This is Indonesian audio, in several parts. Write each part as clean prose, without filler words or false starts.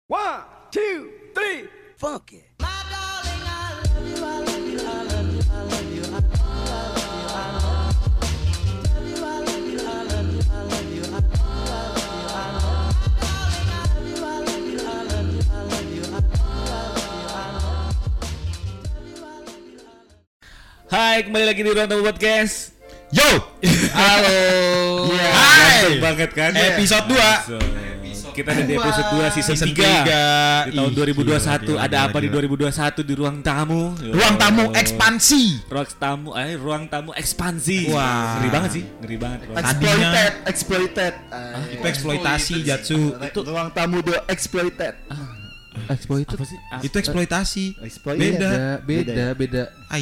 One, two, three, funky. Hai, kembali lagi di Ruang Tamu Podcast. Yo! Halo. Yeah. Hai. Banget kan? Episode 2. Kita ada di episode 2 season 3 di tahun 2021. Ada apa di 2021 di Ruang Tamu? Ruang tamu ekspansi. Ruang tamu ekspansi. Wah. Ngeri banget sih, ngeri banget. Exploited. Itu eksploitasi Jatsu. Itu ruang tamu do exploited. Exploited Apa sih? Itu eksploitasi. beda. Ai.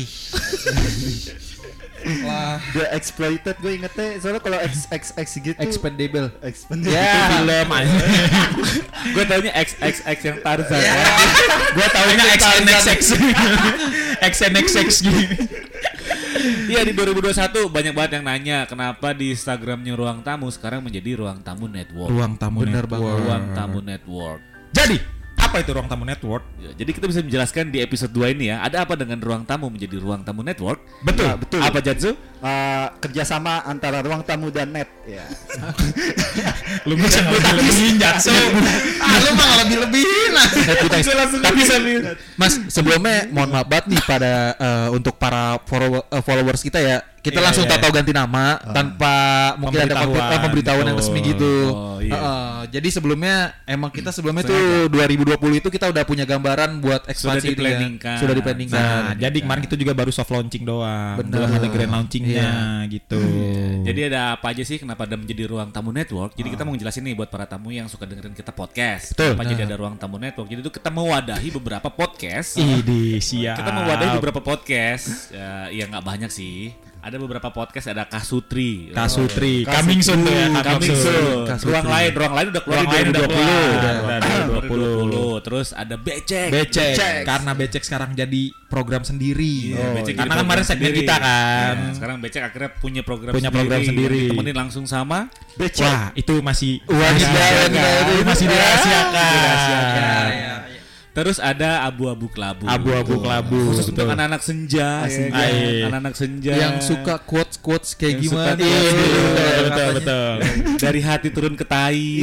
Wah. The exploited gue ingetnya soalnya kalau X gitu. Expendable. Expandable. Ya, film aja. Gue taunya XXX yang Tarzan. Gua taunya XNXX. XNXX gitu. Iya, di 2021 banyak banget yang nanya kenapa di Instagramnya Ruang Tamu sekarang menjadi Ruang Tamu Network. Ruang tamu Bener network. banget. Ruang Tamu Network. Jadi, apa itu ruang tamu network? Ya, jadi kita bisa menjelaskan di episode 2 ini ya, ada apa dengan Ruang Tamu menjadi Ruang Tamu Network? Betul. Ya, betul. Apa Jatsu? Kerjasama antara ruang tamu dan net. Ya. Lu bisa lebih-lebihin Jatsu. Lu mah lebih-lebihin lah. Tapi Mas, sebelumnya mohon maaf banget nih pada untuk para followers kita ya. Kita Iya, langsung iya. tahu ganti nama tanpa mungkin ada pemberitahuan yang resmi gitu. Oh, iya. Jadi sebelumnya kita tuh 2020 itu kita udah punya gambaran buat ekspansi itu ya. diplaningkan. Sudah diplaningkan. Nah, jadi kemarin kita juga baru soft launching doang. Bener. Belum ada grand launchingnya gitu. Jadi ada apa aja sih kenapa ada menjadi Ruang Tamu Network? Jadi kita mau ngejelasin nih buat para tamu yang suka dengerin kita podcast. Betul. Kenapa jadi ada Ruang Tamu Network? Jadi itu kita mewadahi beberapa podcast. Idi siap. Kita mewadahi beberapa podcast. Ya nggak banyak sih. Ada beberapa podcast, ada Kasutri. Kasutri, coming soon ya, Coming soon. Kasutri. Ruang lain udah keluar Ruang di lain udah 2020. Terus ada Becek. Becek. Karena Becek sekarang jadi program sendiri. Iya, Becek Karena jadi kemarin program segmen sendiri. kita kan. Nah, sekarang Becek akhirnya punya program sendiri. yang ditemenin langsung sama Becek. Wah, itu masih Wanita. masih dirahasiakan. Terus ada Abu-Abu Kelabu. Abu-abu kelabu. Khusus untuk betul. anak-anak senja, ya kan? Iya. Anak-anak senja Yang suka quotes kayak Yang suka gimana? quotes, betul. dari hati turun ke tai.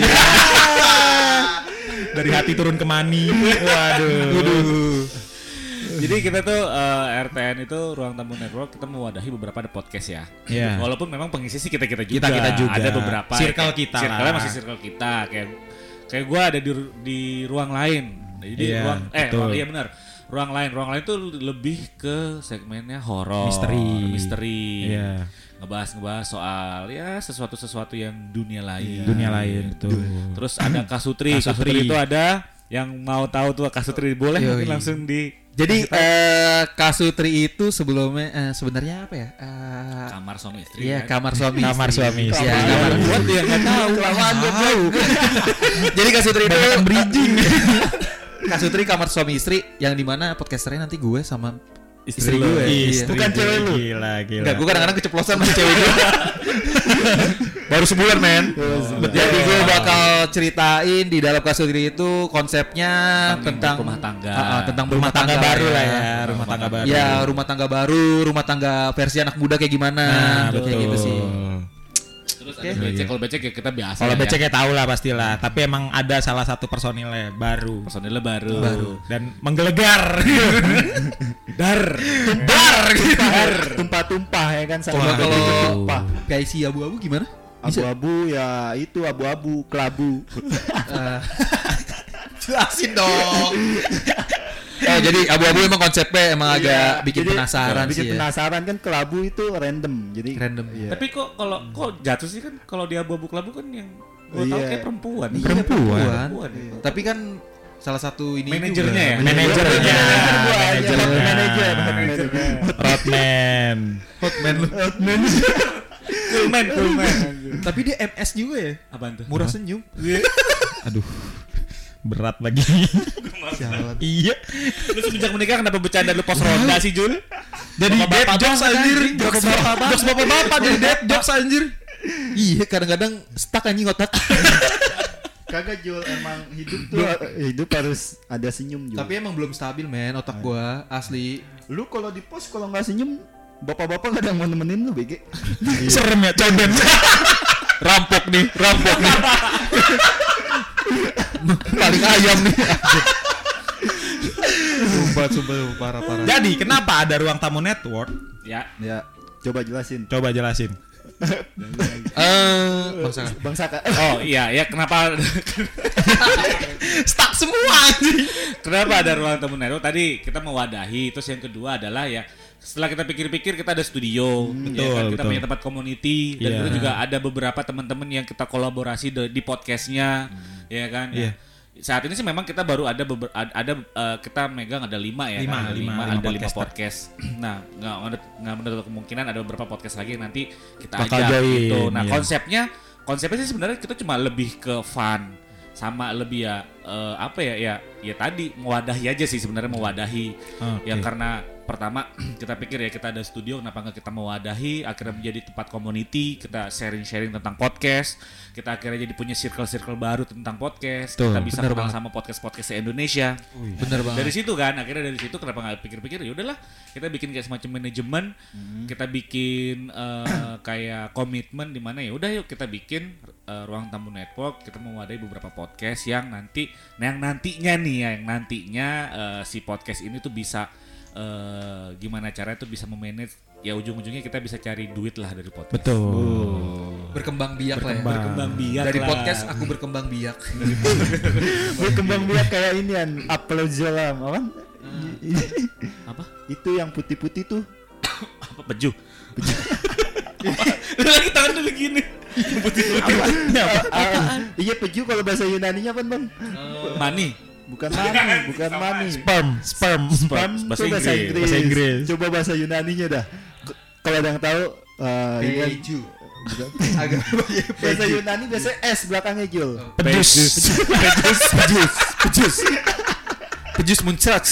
Dari hati turun ke mani. Waduh. Jadi kita tuh RTN itu Ruang Tamu Network, kita mewadahi beberapa ada podcast ya. Iya. Walaupun memang pengisi sih kita juga. Kita juga. Ada beberapa. Circle kita Circle-nya lah. masih circle kita. Kayak gue ada di ruang lain. Jadi Iya, ruang betul. benar. Ruang lain tuh lebih ke segmennya horor, misteri. Iya. Ngebahas soal ya sesuatu yang dunia lain. Dunia lain betul. Terus ada Kasutri. Kasutri. Kasutri itu ada yang mau tahu tuh Kasutri boleh Yoi. mungkin langsung di Jadi Kasutri itu sebelumnya sebenarnya apa ya? kamar suami istri. Iya, kan? kamar suami Kamar istri. suami istri. Iya, Iya, kamar buat dia nggak tahu. Jadi Kasutri itu Banyak bridging. Kasutri kamar suami istri yang dimana podcasternya nanti gue sama istri lu. gue. Iya. Bukan cewek lu. Gila. Enggak, gue kadang-kadang keceplosan sama cewek gue. Baru sebulan men. Jadi gue bakal ceritain di dalam Kasutri itu konsepnya tentang rumah tangga. tentang Rumah tangga baru lah ya, Iya. rumah tangga baru. Ya, rumah tangga baru, rumah tangga versi anak muda kayak gimana. Nah, Kayak gitu sih. Terus ada becek. Kalau becek ya kita biasa. Kalau ya. beceknya tahu lah pastilah, tapi emang ada salah satu personilnya baru Personilnya baru. dan menggelegar. Tumpah-tumpah ya kan Coba kalau tumpah. kayak si abu-abu gimana? Abu-abu ya itu abu-abu kelabu. Jelasin dong. Jadi abu-abu emang konsepnya emang agak bikin Jadi, penasaran bikin sih ya. penasaran kan kelabu itu random. Jadi Random. Iya. Tapi kok jatuh sih kan kalau di Abu-Abu Kelabu kan yang gue tahu Iya. kayak perempuan. Iya, Perempuan. Perempuan. Tapi kan salah satu ini Manajernya ya? Manajernya. Manajer. Rodman. Hotman lu. Coolman. Tapi dia MS juga ya. Apaan tuh? Murah senyum. Aduh. Berat lagi. Iya. Lu semenjak menikah kenapa bercanda lu pos ronda sih Jul? Jadi dead jokes anjir. Jokes bapak-bapak jadi dead jokes anjir. Iya, kadang-kadang stuck anjing otak. Kagak Jul, emang hidup harus ada senyum Jul. Tapi emang belum stabil men otak gua asli. Lu kalau di pos kalau nggak senyum, bapak-bapak nggak ada yang mau nemenin lu BG. Serem ya, coben. Rampok nih. Paling ayam nih. Sumpah parah. Jadi kenapa ada ruang tamu network? Ya. Ya, coba jelasin. Coba jelasin. Bangsa Kak. Oh iya, ya kenapa Stuck semua anjing. kenapa ada ruang tamu network? Tadi kita mewadahi, terus yang kedua adalah ya setelah kita pikir-pikir kita ada studio, ya kan? Kita betul. punya tempat community dan Iya. kita juga ada beberapa teman-teman yang kita kolaborasi di podcastnya, ya kan? Iya. Saat ini sih memang kita baru ada kita megang ada 5 ya, Lima, kan? lima Ada 5 podcaster. podcast. Nah, nggak menutup kemungkinan ada beberapa podcast lagi yang nanti kita Bakal ajak join, gitu. Nah, iya. konsepnya sih sebenarnya kita cuma lebih ke fun sama lebih ya ya tadi mewadahi aja sih sebenarnya mewadahi. Oke. Ya karena pertama kita pikir ya kita ada studio, kenapa nggak kita mewadahi akhirnya menjadi tempat community, kita sharing tentang podcast, kita akhirnya jadi punya circle baru tentang podcast. Tuh, Kita bisa bener kenal banget. sama podcast Indonesia. Bener banget. Dari situ kan akhirnya dari situ kenapa nggak pikir-pikir ya udahlah kita bikin kayak semacam manajemen, kita bikin kayak komitmen di mana ya udah yuk kita bikin ruang tamu network, kita mewadahi beberapa podcast yang nantinya si podcast ini tuh bisa gimana caranya tuh bisa memanage ya ujung-ujungnya kita bisa cari duit lah dari podcast. Betul. Berkembang biak lah ya. Berkembang biak Dari lah. podcast aku berkembang biak. Berkembang biak kayak ini kan, upload zolam, apa? Apa? Itu yang putih-putih tuh. Apa peju? Lagi tangan dulu gini. Iya peju kalau bahasa Yunaninya apa bang? Mani. Bukan mani. Sperm. Bahasa Itu bahasa Inggris. Inggris. Bahasa Inggris. Coba bahasa Yunaninya dah. Kalau ada yang tahu, ini kan- Peju. bukan. Agak Bahasa Yunani biasanya S belakangnya Jul. Pejus muncrat.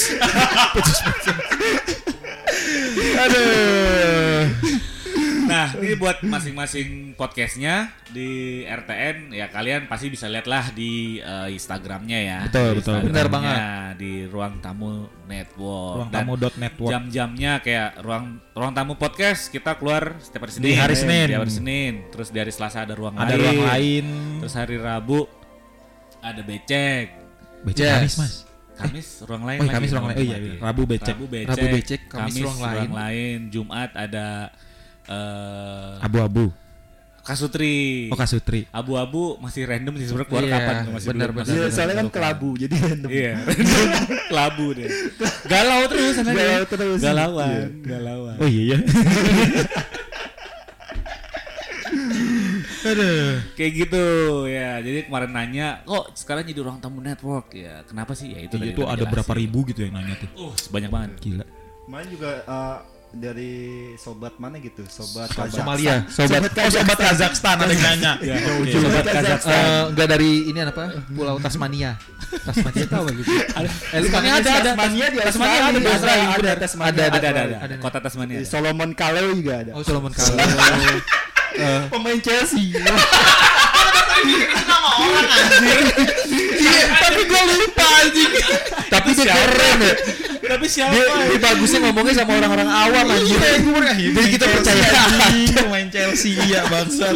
Nah, ini buat masing-masing podcastnya di RTN ya kalian pasti bisa lihat lah di Instagramnya ya. Betul, Di betul. Instagramnya, Benar banget. Di Ruang Tamu Network. Ruang Dan tamu .network. jam-jamnya kayak ruang tamu podcast kita keluar setiap hari Senin. Di hari Senin. Di hari Senin. Terus di hari Selasa ada ruang Ada lain. ruang lain. Terus hari Rabu ada becek. Becek Yes. Kamis, Mas. Kamis ruang lain Oh, lagi. Kamis ruang lain. Oh iya, iya. Rabu becek. Rabu becek. Rabu becek, Kamis ruang lain. Jumat ada Abu-abu. Kasutri. Oh, Kasutri. Abu-abu masih random sih sebenarnya keluar Iya, kapan tuh masih benar, belum. benar. Iya, soalnya kan kelabu jadi random. Iya. Kelabu deh. Galau terus sana Galau dia. terus. Galauan, galauan. Oh iya ya. Aduh. Kayak gitu ya. Jadi kemarin nanya, kok sekarang jadi ruang tamu network ya? Kenapa sih? Ya itu Itu tadi tuh udah ada berapa dijelasin. ribu gitu yang nanya tuh. Banyak banget. Gila. Kemarin juga dari sobat mana gitu, sobat Somalia. Sobat Kazakhstan ada yang nanya. Ya, Oke. Sobat Kazakhstan. Enggak dari ini apa? Pulau Tasmania. Tasmania tahu enggak gitu? Tasmania ada. Tasmania di Tasmania Australia, ada di Australia. ada Tasmania. Ada. Kota Tasmania. Di Solomon Kaleo juga ada. Oh, Solomon Kaleo. Pemain Chelsea. Tapi gue lupa anjing. Tapi dia keren ya. Tapi siapa? Dia bagusnya ngomongnya sama orang-orang awam anjing. Jadi kita percaya. Pemain Chelsea iya bangsat.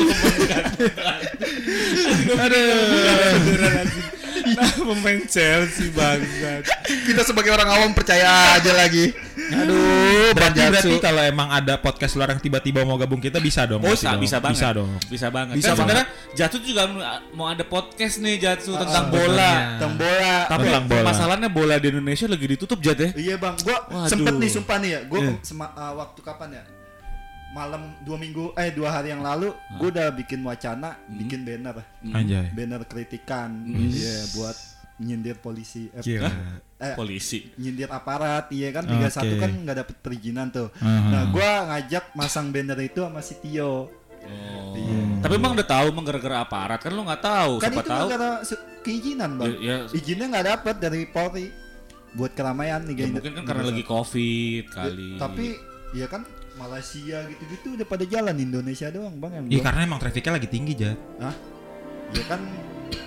Nah, pemain Chelsea bangsat. Kita sebagai orang awam percaya aja lagi. Aduh, Berarti kalau emang ada podcast luar yang tiba-tiba mau gabung kita bisa dong. Oh, pasti dong. bisa banget. Bisa dong. Bisa banget. Bisa Kan banget. sebenarnya Jatuh juga mau ada podcast nih Jatuh tentang bola. Tentang bola. Tapi Tentang bola. masalahnya bola di Indonesia lagi ditutup Jat ya. Iya bang, gua Waduh. sempet nih sumpah nih ya, gua Iya. waktu kapan ya? Malam 2 hari yang lalu, gua udah bikin wacana, bikin banner, Anjay. banner kritikan, iya buat nyindir polisi, Gila. Polisi. nyindir aparat, iya kan 31 Oke. kan nggak dapet perizinan tuh. Aha. Nah, gua ngajak masang banner itu sama si Tio. Iya. Tapi emang udah tahu emang gara-gara aparat kan lu nggak tahu. Kan Siapa itu tahu. karena keizinan bang, Ya, izinnya nggak dapet dari Polri buat keramaian nih ya mungkin kan karena lagi Covid kali. Tapi ya kan Malaysia gitu-gitu udah pada jalan, Indonesia doang bang yang Iya belum. karena emang trafiknya lagi tinggi Jat. Hah? Ya kan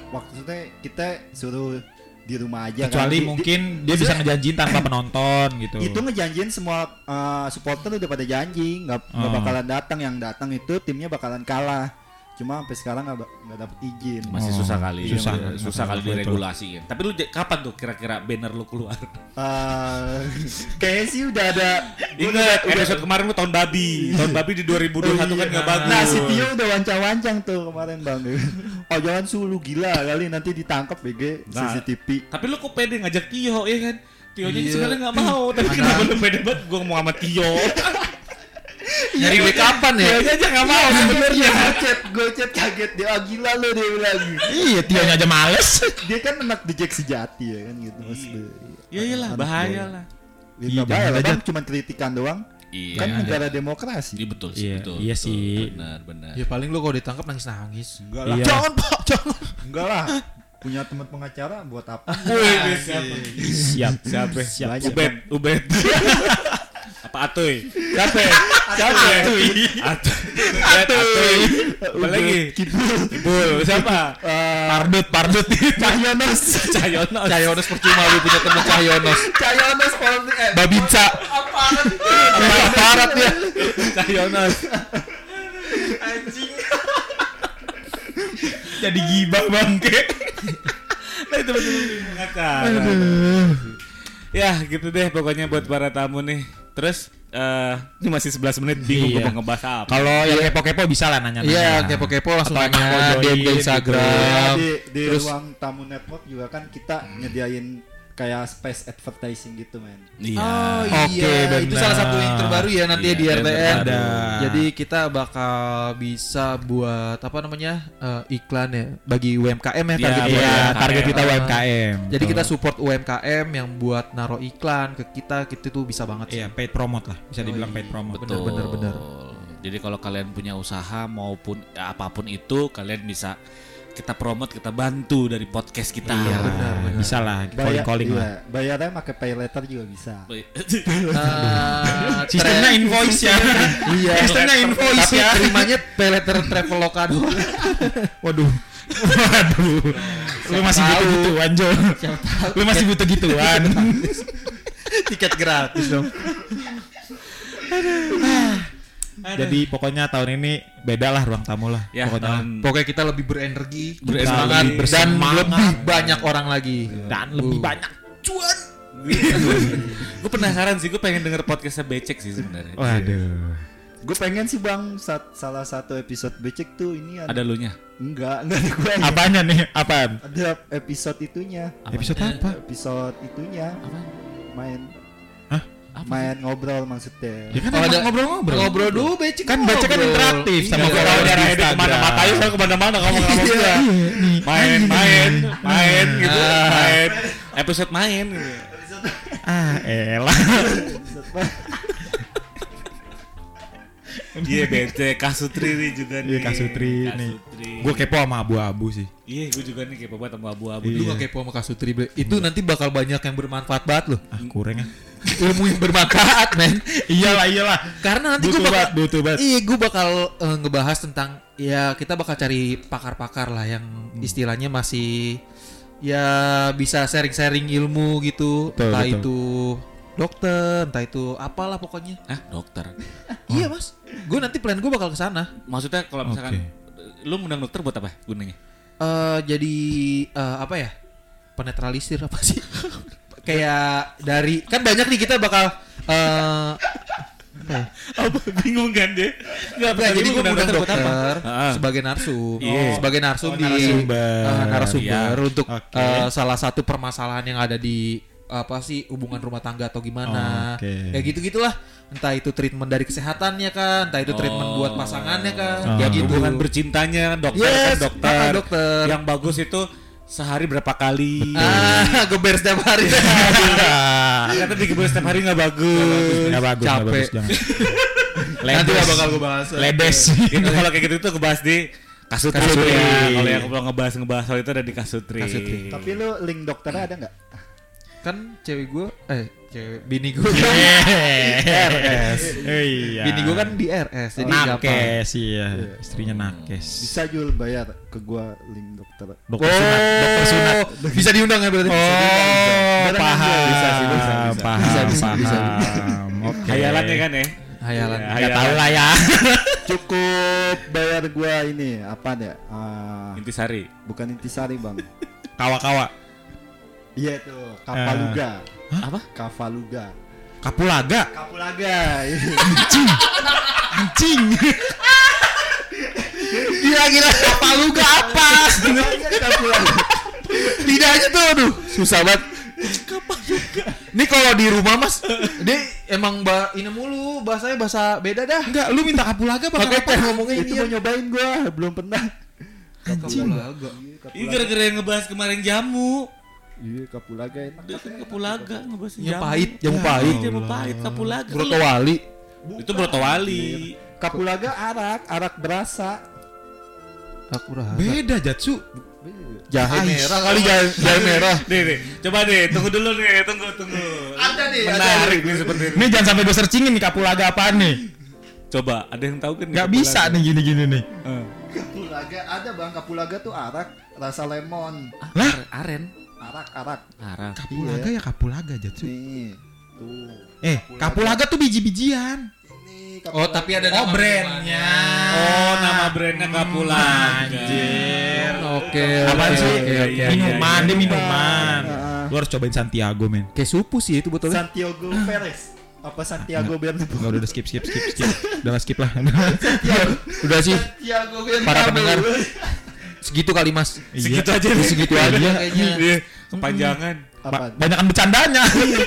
maksudnya kita suruh di rumah aja Kecuali kan. mungkin dia bisa ngejanjiin tanpa penonton gitu. Itu ngejanjiin semua supporter udah pada janji nggak bakalan datang, yang datang itu timnya bakalan kalah. Cuma sampai sekarang nggak dapet izin. Masih susah kali. Susah Kali betul. diregulasiin. Tapi lu kapan tuh kira-kira banner lu keluar? Kayaknya sih udah ada. Ingat episode kemarin lu tahun babi. Tahun babi di 2021 kan enggak bagus. Nah, si Tio udah wancang-wancang tuh kemarin Bang. Oh jangan sulu gila kali nanti ditangkap BG Nah, CCTV. Tapi lu kok pede ngajak Tio ya kan? Tionya Iya. sebenarnya enggak mau, tapi kenapa lu pede banget gua mau sama Tio? Nyari gue kapan ya? Tionya aja enggak mau sebenarnya. Gue chat kaget dia, gila lu dia bilang. Iya, Tionya aja males. Dia kan anak The Jack sejati ya kan gitu Mas. Ya iyalah, bahaya lah. Iya, Iya, bahaya lah jangan Bang, cuma kritikan doang. Iya. Kan negara demokrasi. Iya betul sih, Iya, betul. iya betul. sih. Benar. Ya paling lu kalau ditangkap nangis. Enggak lah. Iya. Jangan Pak, jangan. Enggak lah. Punya teman pengacara buat apa? Siap. Siapa? Banyak, Ubed. Apa Atoy? Siapa? Atoy. Atoy. Apa lagi? Kibul. Siapa? Pardut. Cahyonos. Percuma lu punya temen Cahyonos. Cahyonos Babinsa. Aparat ya. Cahyonos. Jadi gibah bangke. Nah itu betul pengacara. Ya gitu deh pokoknya buat para tamu nih. Terus ini masih 11 menit bingung Iya. gue mau ngebahas apa. Kalau yang kepo-kepo bisa lah nanya. Iya, kepo-kepo langsung Atau nanya mau join DM ke gitu. Instagram. di Terus ruang tamu network juga kan kita nyediain kayak space advertising gitu men. Iya. Oke, itu benar. salah satu yang terbaru ya nanti Iya, di yang RTN. terbaru. Jadi kita bakal bisa buat apa namanya iklan ya bagi UMKM ya Iya, target buat Iya, UMKM. target kita UMKM. Jadi kita support UMKM yang buat naruh iklan ke kita tuh bisa banget sih. Iya, paid promote lah. Bisa dibilang paid promote. Betul. bener. Jadi kalau kalian punya usaha maupun apapun itu kalian bisa kita promote, kita bantu dari podcast kita. Iya, benar. Bisa lah, calling lah. Iya, bayarnya pakai pay letter juga bisa. Sistemnya invoice ya. Iya. Sistemnya invoice Tapi ya. terimanya pay letter Traveloka doang. Waduh. Lu masih butuh gituan, Jo. Lu masih butuh gituan. Tiket gratis dong. Jadi pokoknya tahun ini beda lah ruang tamu lah. Ya, Pokoknya Pokoknya kita lebih berenergi, Berenergi, bersemangat, dan bersemangat. lebih banyak orang lagi. dan lebih banyak cuan. Gue penasaran sih, gue pengen denger podcastnya Becek sih sebenarnya. Waduh. Gue pengen sih Bang salah satu episode becek tuh ini Ada lu nya? enggak ada gue. Apanya nih? Apaan? Ada episode itunya. Episode apa? Episode itunya. Main Hah? main ngobrol maksudnya. Ya kan Oh, emang ada ngobrol-ngobrol. Ngobrol dulu, becek Kan baca kan interaktif sama Kalau follower dia di ada Instagram. kemana-mana, ayo saya kemana-mana ngomong-ngomong Iya, dia. nih. Main gitu, main. Episode main gitu. Elah. Iya bete Kasutri nih juga nih. Iya, Kasutri nih. Kasutri. Gue kepo sama abu-abu sih. Iya gue juga nih kepo banget sama abu-abu. Lu Iya. gak kepo sama Kasutri, Bre. Itu nanti bakal banyak yang bermanfaat banget loh. Kurang ya. Ilmu yang bermanfaat, men. Iyalah. Karena nanti gue Butuh bakal banget, butuh banget. Iya, gue bakal ngebahas tentang ya kita bakal cari pakar-pakar lah yang istilahnya masih ya bisa sharing-sharing ilmu gitu. Betul, Entah betul. itu dokter, entah itu apalah pokoknya. Ah dokter. Iya, Mas. Gue nanti plan gue bakal ke sana. Maksudnya kalau misalkan Oke. lu ngundang dokter buat apa gunanya? Jadi apa ya? Penetralisir apa sih? Kayak dari kan banyak nih kita bakal Apa bingung kan dia? Enggak Enggak, jadi gue ngundang dokter Heeh. sebagai narsum, Iya. sebagai narsum di narasumber. narasumber Iya. untuk Oke. salah satu permasalahan yang ada di apa sih hubungan rumah tangga atau gimana, Oke. kayak gitu-gitulah. Entah itu treatment dari kesehatannya kan, entah itu treatment buat pasangannya kan, kayak gitu. Hubungan bercintanya dokter Yes, kan dokter. dokter. Yang bagus itu sehari berapa kali? Geber setiap hari. Kata digeber setiap hari nggak bagus. Nggak bagus, nggak Capek. bagus, jangan. Nanti lah bakal gue bahas. Ledes. Itu kalau kayak gitu tuh ngebahas di Kasutri. Kasutri. Ya. Kalau yang ngebahas soal itu ada di Kasutri. Kasutri. Tapi lu link dokternya ada nggak? Kan bini gue Iya. RS. Iya. Bini gue kan di RS jadi gampang. nakes iya. Istrinya nakes. Bisa Jul bayar ke gua link dokter. Dokter sunat, dokter sunat. Bisa diundang ya berarti. Oh, Beneran, paham. bisa sih, bisa. Paham, Bisa. paham. Oke. Hayalannya kan ya. Hayalan. Ya, Nggak tahu lah ya. Cukup bayar gua ini apa ya? Intisari. Bukan intisari bang. Kawa-kawa. Iya itu Kapaluga. Apa? Kapaluga. Kapulaga. Kapulaga. Anjing. Kira-kira Kapaluga apa? Kapulaga. Lidahnya tuh aduh susah banget. Ini kalau di rumah Mas, dia emang ini mulu bahasanya bahasa beda dah. Enggak, lu minta kapulaga apa Pakai apa? teh ngomongnya Itu ini mau nyobain gua, belum pernah. Anjing. Ini gara-gara yang ngebahas kemarin jamu. Iya, Kapulaga enak. Dia kan Kapulaga ngebahas Jamu jamu. pahit, jamu pahit. Jamu pahit Kapulaga. Broto Wali. Itu Brotowali. Kapulaga arak berasa. Aku rahasia. Beda Jatsu. Jahe merah kali jahe merah. Nih, coba deh, tunggu dulu nih, tunggu. Ada nih, Menarik nih seperti ini. Ini jangan sampai gue searchingin nih kapulaga apaan nih. Coba, ada yang tahu kan? Nggak bisa nih gini-gini nih. Kapulaga ada bang, Kapulaga tuh arak rasa lemon. Lah? Aren. Arak. Kapulaga ya kapulaga Jatsu. Nih, tuh. Kapulaga tuh biji-bijian. Ini Oh, tapi ada nama brandnya. Oh, nama brandnya Kapulaga. Anjir. Oke. Apaan sih? Oke. Minuman, dia minuman. Heeh. Lu harus cobain Santiago, men. Kayak supu sih itu botolnya. Santiago Perez. Apa Santiago Bernabeu? Enggak udah skip. Udah lah, skip lah. Udah sih Santiago Bernabeu. para pendengar. Segitu kali Mas. Segitu aja nih. Segitu aja kayaknya. Iya, kepanjangan. Apaan? Banyakan bercandanya.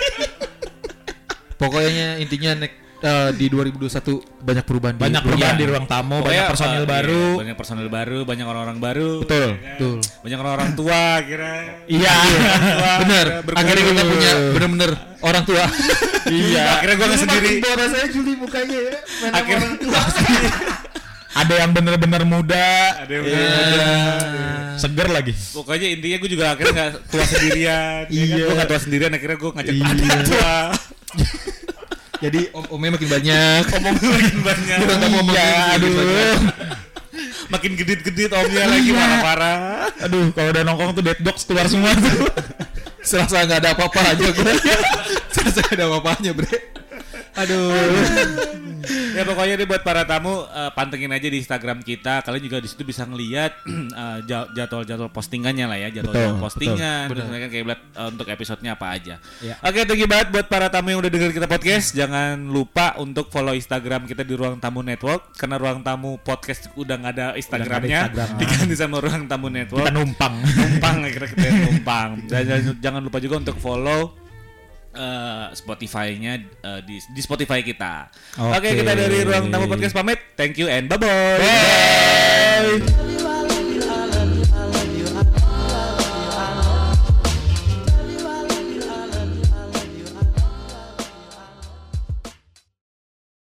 Pokoknya intinya di 2021 banyak perubahan Banyak perubahan di ruang tamu, banyak Pokoknya, personil baru. iya, banyak personil baru, banyak orang-orang baru. Betul. ya kan? Betul. Banyak orang-orang tua kira. Iya. Bener. berkumpul. Akhirnya kita punya bener-bener orang tua. Iya. Akhirnya gue nggak sendiri. Makin boros saya Juli mukanya ya. Main sama Akhirnya orang tua. Ada yang bener-bener muda. Ada yang Seger lagi. Pokoknya intinya gue juga akhirnya nggak tua sendirian. Iya. Gue nggak tua sendirian. Akhirnya gue ngajak Iya. adik tua. Jadi omnya makin banyak. Ngomongnya makin banyak. Iya, aduh. Makin gedit-gedit omnya lagi marah-marah. Aduh, kalau udah nongkrong tuh dead dogs keluar semua tuh. Serasa nggak ada apa-apa aja gue. Serasa nggak ada apa-apanya bre. Aduh. Ya pokoknya deh buat para tamu pantengin aja di Instagram kita. Kalian juga di situ bisa ngelihat jadwal-jadwal postingannya lah ya, jadwal Betul, postingan. betul. Terus kayak untuk episodenya apa aja. Ya. Oke, thank you banget buat para tamu yang udah dengerin kita podcast. Jangan lupa untuk follow Instagram kita di Ruang Tamu Network karena Ruang Tamu Podcast udah nggak ada Instagramnya. Instagram. Diganti sama Ruang Tamu Network. Kita numpang. Akhirnya kita numpang. Dan jangan lupa juga untuk follow Spotify-nya di Spotify kita. Oke, Oke. kita dari Ruang Tamu Podcast pamit. Thank you and bye-bye. Bye.